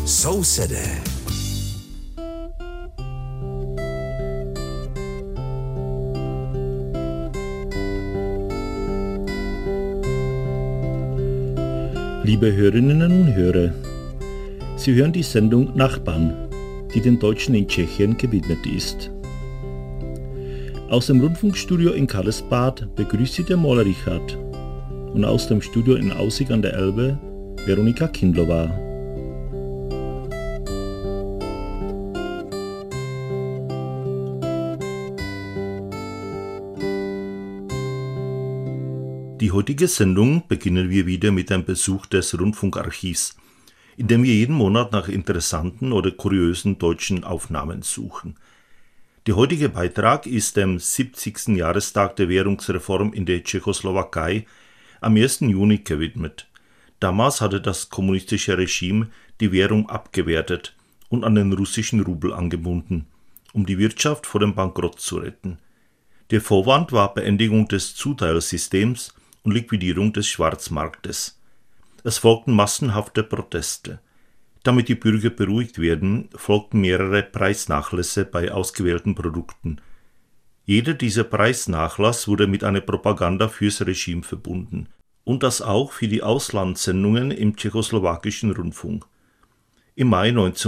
Sousedé. Liebe Hörerinnen und Hörer, Sie hören die Sendung Nachbarn, die den Deutschen in Tschechien gewidmet ist. Aus dem Rundfunkstudio in Karlsbad begrüßt Sie der Maler Richard und aus dem Studio in Aussig an der Elbe Veronika Kindlová. Die heutige Sendung beginnen wir wieder mit einem Besuch des Rundfunkarchivs, in dem wir jeden Monat nach interessanten oder kuriösen deutschen Aufnahmen suchen. Der heutige Beitrag ist dem 70. Jahrestag der Währungsreform in der Tschechoslowakei am 1. Juni gewidmet. Damals hatte das kommunistische Regime die Währung abgewertet und an den russischen Rubel angebunden, um die Wirtschaft vor dem Bankrott zu retten. Der Vorwand war Beendigung des Zuteilsystems und Liquidierung des Schwarzmarktes. Es folgten massenhafte Proteste. Damit die Bürger beruhigt werden, folgten mehrere Preisnachlässe bei ausgewählten Produkten. Jeder dieser Preisnachlass wurde mit einer Propaganda fürs Regime verbunden. Und das auch für die Auslandssendungen im tschechoslowakischen Rundfunk. Im Mai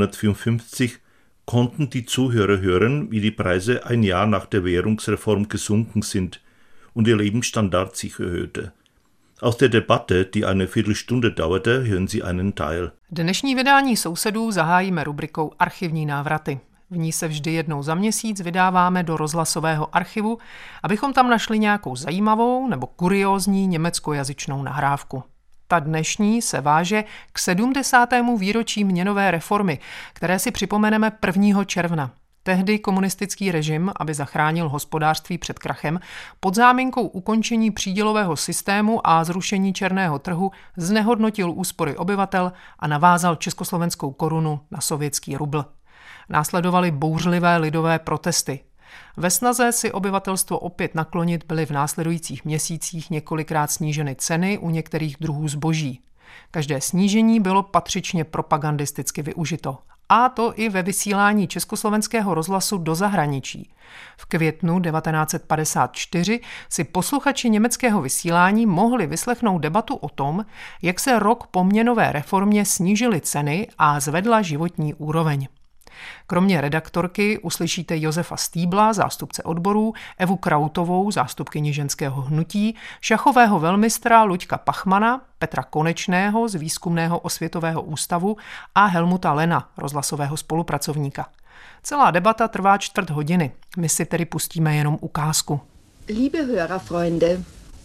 1954 konnten die Zuhörer hören, wie die Preise ein Jahr nach der Währungsreform gesunken sind und ihr Lebensstandard sich erhöhte. Aus der Debatte, die eine Viertelstunde dauerte, hören Sie einen Teil. Dnešní vydání Sousedů zahájíme rubrikou Archivní návraty. V ní se vždy jednou za měsíc vydáváme do rozhlasového archivu, abychom tam našli nějakou zajímavou nebo kuriózní německojazyčnou nahrávku. Ta dnešní se váže k 70. výročí měnové reformy, které si připomeneme 1. června. Tehdy komunistický režim, aby zachránil hospodářství před krachem, pod záminkou ukončení přídělového systému a zrušení černého trhu znehodnotil úspory obyvatel a navázal československou korunu na sovětský rubl. Následovaly bouřlivé lidové protesty. Ve snaze si obyvatelstvo opět naklonit byly v následujících měsících několikrát sníženy ceny u některých druhů zboží. Každé snížení bylo patřičně propagandisticky využito. A to i ve vysílání československého rozhlasu do zahraničí. V květnu 1954 si posluchači německého vysílání mohli vyslechnout debatu o tom, jak se rok po měnové reformě snížily ceny a zvedla životní úroveň. Kromě redaktorky uslyšíte Josefa Stýbla, zástupce odborů, Evu Krautovou, zástupkyni ženského hnutí, šachového velmistra Luďka Pachmana, Petra Konečného z Výzkumného osvětového ústavu a Helmuta Lena, rozhlasového spolupracovníka. Celá debata trvá 1/4 hodiny. My si tedy pustíme jenom ukázku. Liebe Hörerfreunde,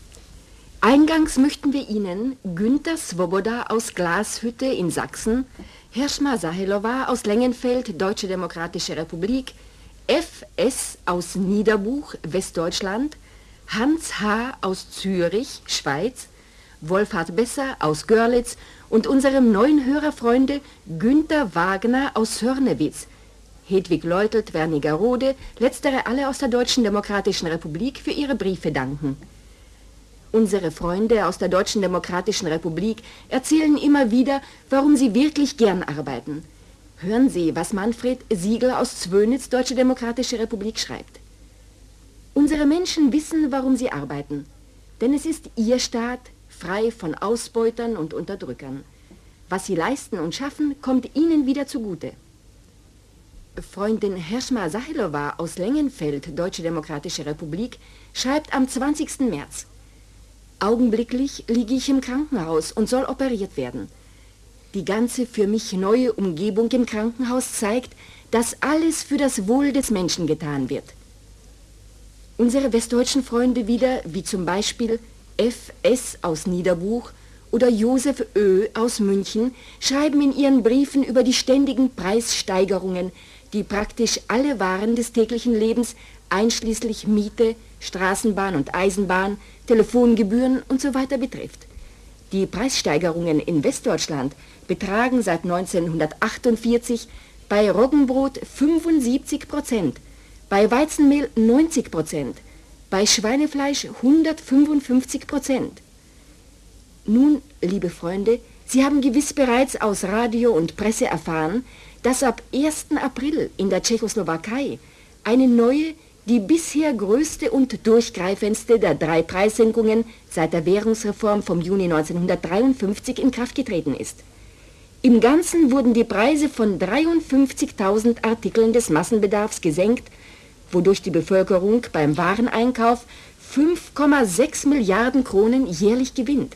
eingangs möchten wir Ihnen Günter Svoboda aus Glashütte in Sachsen, Hirschma Sahelová aus Lengenfeld, Deutsche Demokratische Republik, F.S. aus Niederbuch, Westdeutschland, Hans H. aus Zürich, Schweiz, Wolfhard Besser aus Görlitz und unserem neuen Hörerfreunde Günther Wagner aus Hörnewitz, Hedwig Leutelt, Wernigerode, letztere alle aus der Deutschen Demokratischen Republik für ihre Briefe danken. Unsere Freunde aus der Deutschen Demokratischen Republik erzählen immer wieder, warum sie wirklich gern arbeiten. Hören Sie, was Manfred Siegler aus Zwönitz, Deutsche Demokratische Republik, schreibt. Unsere Menschen wissen, warum sie arbeiten. Denn es ist ihr Staat, frei von Ausbeutern und Unterdrückern. Was sie leisten und schaffen, kommt ihnen wieder zugute. Freundin Hirschma Sahelová aus Lengenfeld, Deutsche Demokratische Republik, schreibt am 20. März. Augenblicklich liege ich im Krankenhaus und soll operiert werden. Die ganze für mich neue Umgebung im Krankenhaus zeigt, dass alles für das Wohl des Menschen getan wird. Unsere westdeutschen Freunde wieder, wie zum Beispiel F.S. aus Niederbuch oder Josef Ö. aus München, schreiben in ihren Briefen über die ständigen Preissteigerungen, die praktisch alle Waren des täglichen Lebens, einschließlich Miete, Straßenbahn und Eisenbahn, Telefongebühren und so weiter betrifft. Die Preissteigerungen in Westdeutschland betragen seit 1948 bei Roggenbrot 75%, bei Weizenmehl 90%, bei Schweinefleisch 155%. Nun, liebe Freunde, Sie haben gewiss bereits aus Radio und Presse erfahren, dass ab 1. April in der Tschechoslowakei eine neue, die bisher größte und durchgreifendste der 3 Preissenkungen seit der Währungsreform vom Juni 1953 in Kraft getreten ist. Im Ganzen wurden die Preise von 53.000 Artikeln des Massenbedarfs gesenkt, wodurch die Bevölkerung beim Wareneinkauf 5,6 Milliarden Kronen jährlich gewinnt.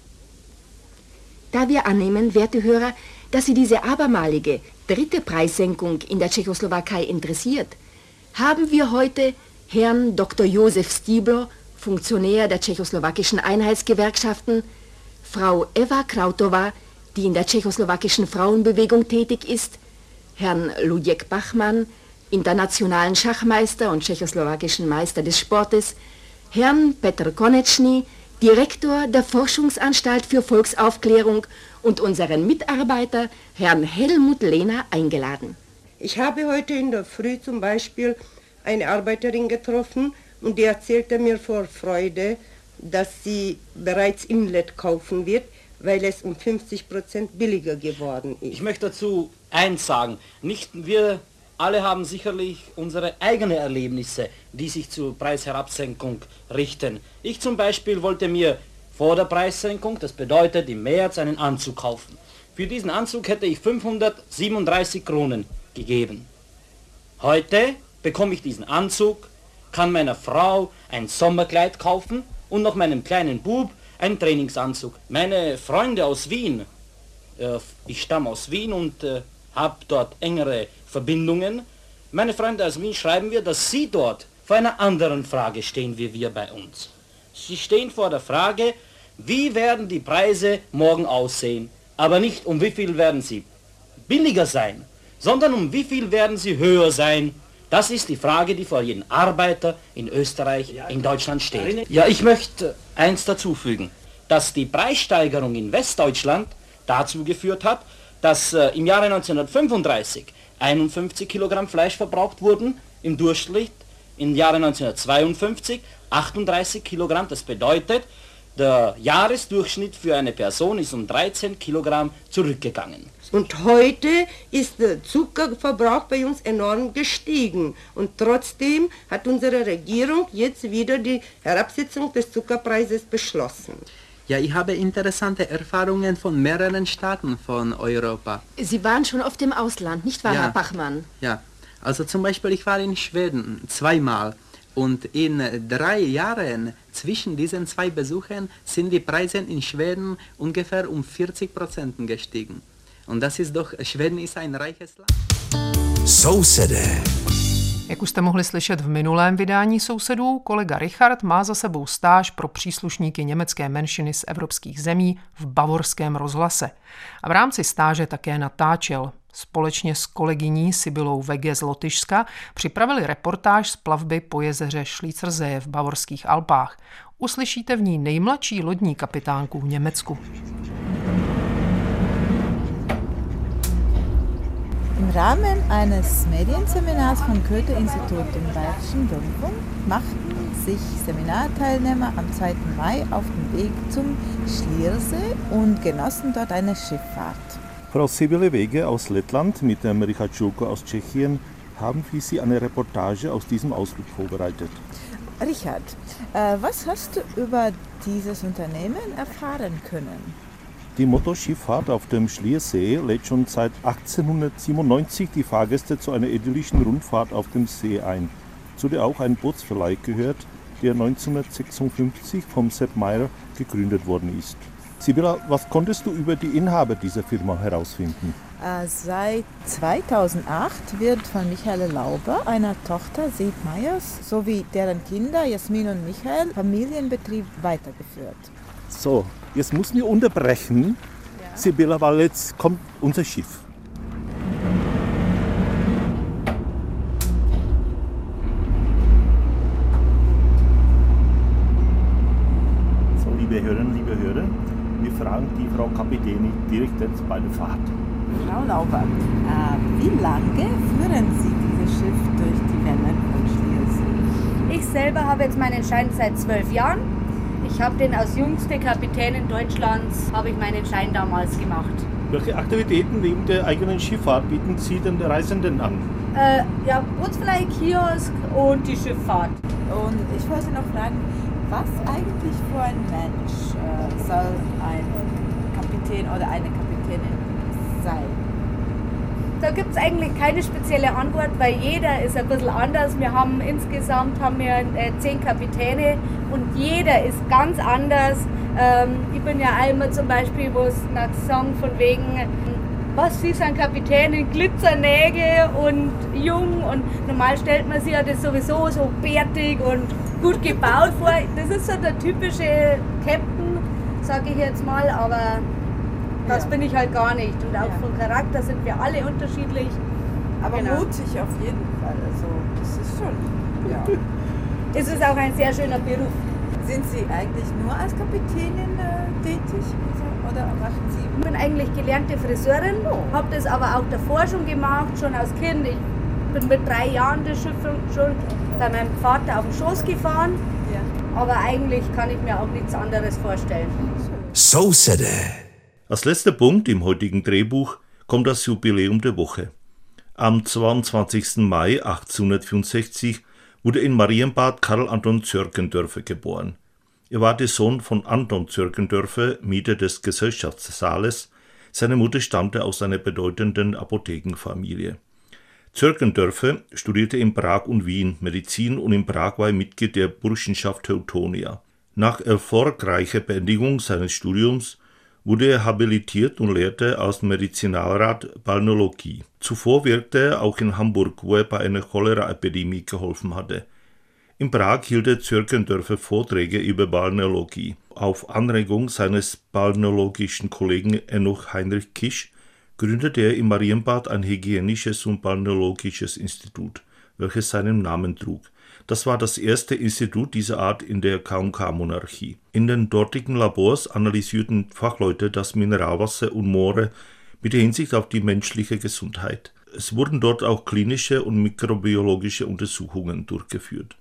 Da wir annehmen, werte Hörer, dass Sie diese abermalige 3. Preissenkung in der Tschechoslowakei interessiert, haben wir heute Herrn Dr. Josef Stiebler, Funktionär der tschechoslowakischen Einheitsgewerkschaften, Frau Eva Krautová, die in der tschechoslowakischen Frauenbewegung tätig ist, Herrn Luděk Bachmann, internationalen Schachmeister und tschechoslowakischen Meister des Sportes, Herrn Petr Konečný, Direktor der Forschungsanstalt für Volksaufklärung und unseren Mitarbeiter, Herrn Helmut Lehner, eingeladen. Ich habe heute in der Früh zum Beispiel eine Arbeiterin getroffen und die erzählte mir vor Freude, dass sie bereits Inlet kaufen wird, weil es um 50% billiger geworden ist. Ich möchte dazu eins sagen. Nicht wir alle haben sicherlich unsere eigenen Erlebnisse, die sich zur Preisherabsenkung richten. Ich zum Beispiel wollte mir vor der Preissenkung, das bedeutet im März, einen Anzug kaufen. Für diesen Anzug hätte ich 537 Kronen gegeben. Heute bekomme ich diesen Anzug, kann meiner Frau ein Sommerkleid kaufen und noch meinem kleinen Bub einen Trainingsanzug. Meine Freunde aus Wien, ich stamme aus Wien und habe dort engere Verbindungen. Meine Freunde aus Wien schreiben mir, dass sie dort vor einer anderen Frage stehen wie wir bei uns. Sie stehen vor der Frage, wie werden die Preise morgen aussehen, aber nicht um wie viel werden sie billiger sein, sondern um wie viel werden sie höher sein. Das ist die Frage, die vor jedem Arbeiter in Österreich, in Deutschland steht. Ja, ich möchte eins dazufügen, dass die Preissteigerung in Westdeutschland dazu geführt hat, dass im Jahre 1935 51 Kilogramm Fleisch verbraucht wurden, im Durchschnitt im Jahre 1952 38 Kilogramm. Das bedeutet, der Jahresdurchschnitt für eine Person ist um 13 Kilogramm zurückgegangen. Und heute ist der Zuckerverbrauch bei uns enorm gestiegen. Und trotzdem hat unsere Regierung jetzt wieder die Herabsetzung des Zuckerpreises beschlossen. Ja, ich habe interessante Erfahrungen von mehreren Staaten von Europa. Sie waren schon oft im Ausland, nicht wahr, Ja. Herr Bachmann? Ja, also zum Beispiel, ich war in Schweden 2-mal und in 3 Jahren zwischen diesen 2 Besuchen sind die Preise in Schweden ungefähr um 40% gestiegen. Und das ist doch, Schweden ist ein reiches Land. Sousedé. Jak už jste mohli slyšet v minulém vydání Sousedů, kolega Richard má za sebou stáž pro příslušníky německé menšiny z evropských zemí v bavorském rozhlase. A v rámci stáže také natáčel. Společně s kolegyní Sibylou Vege z Lotyšska připravili reportáž z plavby po jezeře Schließersee v bavorských Alpách. Uslyšíte v ní nejmladší lodní kapitánku v Německu. Im Rahmen eines Medienseminars vom Goethe-Institut im Bayerischen Rundfunk machten sich Seminarteilnehmer am 2. Mai auf den Weg zum Schliersee und genossen dort eine Schifffahrt. Frau Sibylle Wege aus Lettland mit dem Richard Schulko aus Tschechien haben für Sie eine Reportage aus diesem Ausflug vorbereitet. Richard, was hast du über dieses Unternehmen erfahren können? Die Motorschifffahrt auf dem Schliersee lädt schon seit 1897 die Fahrgäste zu einer idyllischen Rundfahrt auf dem See ein, zu der auch ein Bootsverleih gehört, der 1956 vom Sepp Meyer gegründet worden ist. Sibylla, was konntest du über die Inhaber dieser Firma herausfinden? Seit 2008 wird von Michael Lauber, einer Tochter Sepp Meyers, sowie deren Kinder Jasmin und Michael, Familienbetrieb weitergeführt. So, jetzt müssen wir unterbrechen, ja. Sibylla, weil jetzt kommt unser Schiff. So, liebe Hörerinnen, liebe Hörer, wir fragen die Frau Kapitänin direkt jetzt bei der Fahrt. Frau Lauber, wie lange führen Sie dieses Schiff durch die Wellen von Schliersee? Ich selber habe jetzt meinen Schein seit 12 Jahren. Ich habe den als jüngste Kapitänin Deutschlands, habe ich meinen Schein damals gemacht. Welche Aktivitäten neben der eigenen Schifffahrt bieten Sie den Reisenden an? Ja, Bootsverleih, Kiosk und die Schifffahrt. Und ich wollte noch fragen, was eigentlich für ein Mensch soll ein Kapitän oder eine Kapitänin sein? Da gibt es eigentlich keine spezielle Antwort, weil jeder ist ein bisschen anders. Insgesamt haben wir 10 Kapitäne und jeder ist ganz anders. Ich bin ja einmal zum Beispiel, wo es nach Song von wegen, was Sie sind Kapitänin, Glitzernägel und jung, und normal stellt man sich ja das sowieso so bärtig und gut gebaut vor. Das ist so der typische Captain, sage ich jetzt mal, aber das bin ich halt gar nicht. Und auch vom Charakter sind wir alle unterschiedlich. Aber mutig auf jeden Fall. Also das ist schon, ja. Es ist auch ein sehr schöner Beruf. Sind Sie eigentlich nur als Kapitänin tätig oder machen Sie? Ich bin eigentlich gelernte Friseurin, habe das aber auch davor schon gemacht, schon als Kind. Ich bin mit 3 Jahren das Schiff schon bei meinem Vater auf dem Schoß gefahren. Ja. Aber eigentlich kann ich mir auch nichts anderes vorstellen. So City. Als letzter Punkt im heutigen Drehbuch kommt das Jubiläum der Woche. Am 22. Mai 1864 wurde in Marienbad Karl Anton Zörkendörfer geboren. Er war der Sohn von Anton Zörkendörfer, Mieter des Gesellschaftssaales. Seine Mutter stammte aus einer bedeutenden Apothekenfamilie. Zörkendörfer studierte in Prag und Wien Medizin und in Prag war er Mitglied der Burschenschaft Teutonia. Nach erfolgreicher Beendigung seines Studiums wurde er habilitiert und lehrte als Medizinalrat Balneologie. Zuvor wirkte er auch in Hamburg, wo er bei einer Cholera-Epidemie geholfen hatte. In Prag hielt er Zörkendörfer Vorträge über Balneologie. Auf Anregung seines balneologischen Kollegen Enoch Heinrich Kisch gründete er in Marienbad ein hygienisches und balneologisches Institut, welches seinen Namen trug. Das war das erste Institut dieser Art in der K&K-Monarchie. In den dortigen Labors analysierten Fachleute das Mineralwasser und Moore mit Hinsicht auf die menschliche Gesundheit. Es wurden dort auch klinische und mikrobiologische Untersuchungen durchgeführt.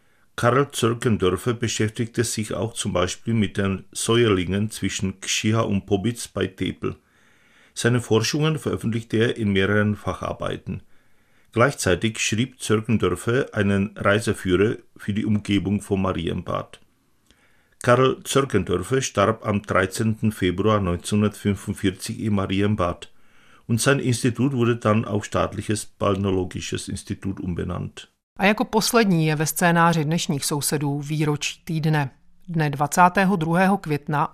Karl Zörkendörfer beschäftigte sich auch zum Beispiel mit den Säuerlingen zwischen Kschiha und Pobitz bei Tepel. Seine Forschungen veröffentlichte er in mehreren Facharbeiten. Gleichzeitig schrieb Zörkendörfer einen Reiseführer für die Umgebung von Marienbad. Karl Zörkendörfer starb am 13. Februar 1945 in Marienbad und sein Institut wurde dann auf Staatliches Balneologisches Institut umbenannt. A jako poslední je ve scénáři dnešních sousedů výročí týdne. Dne 22. května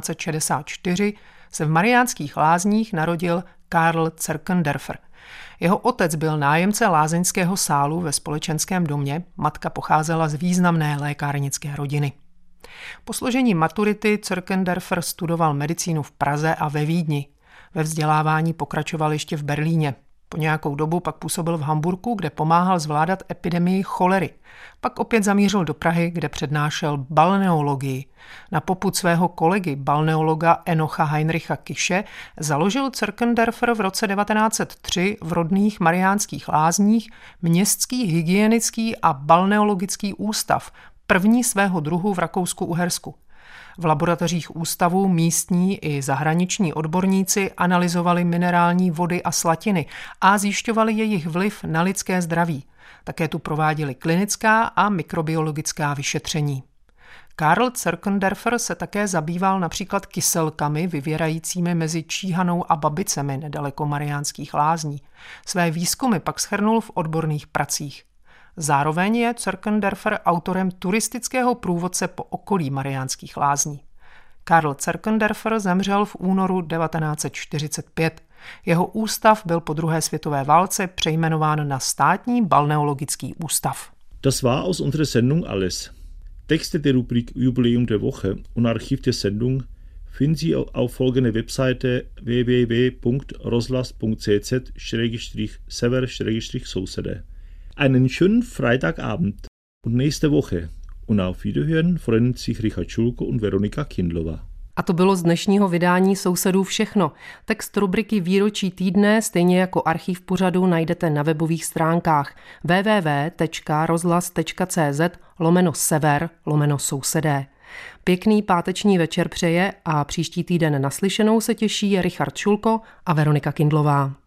1864 se v Mariánských Lázních narodil Karl Zörkendörfer. Jeho otec byl nájemce lázeňského sálu ve společenském domě, matka pocházela z významné lékárnické rodiny. Po složení maturity Zörkendörfer studoval medicínu v Praze a ve Vídni. Ve vzdělávání pokračoval ještě v Berlíně. Po nějakou dobu pak působil v Hamburku, kde pomáhal zvládat epidemii cholery. Pak opět zamířil do Prahy, kde přednášel balneologii. Na popud svého kolegy, balneologa Enocha Heinricha Kische, založil Zörkendörfer v roce 1903 v rodných Mariánských Lázních městský hygienický a balneologický ústav, první svého druhu v Rakousku-Uhersku. V laboratořích ústavu místní i zahraniční odborníci analyzovali minerální vody a slatiny a zjišťovali jejich vliv na lidské zdraví. Také tu prováděli klinická a mikrobiologická vyšetření. Karl Zörkendörfer se také zabýval například kyselkami vyvěrajícími mezi Číhanou a Babicemi nedaleko Mariánských Lázní. Své výzkumy pak shrnul v odborných pracích. Zároveň je Zörkendörfer autorem turistického průvodce po okolí Mariánských Lázní. Karl Zörkendörfer zemřel v únoru 1945. Jeho ústav byl po druhé světové válce přejmenován na Státní balneologický ústav. Das war aus unserer Sendung alles. Texte der Rubrik Jubiläum der Woche und Archiv der Sendung finden Sie auf folgender Webseite www.roslas.cz/sever/sousede. Einen schönen Freitagabend und nächste Woche. Und auf Wiederhören freuen sich Richard Schulko und Veronika Kindlová. A to bylo z dnešního vydání Sousedů všechno. Text rubriky Výročí týdne, stejně jako archiv pořadu, najdete na webových stránkách www.rozhlas.cz/sever/sousedé. Pěkný páteční večer přeje a příští týden naslyšenou se těší Richard Šulko a Veronika Kindlová.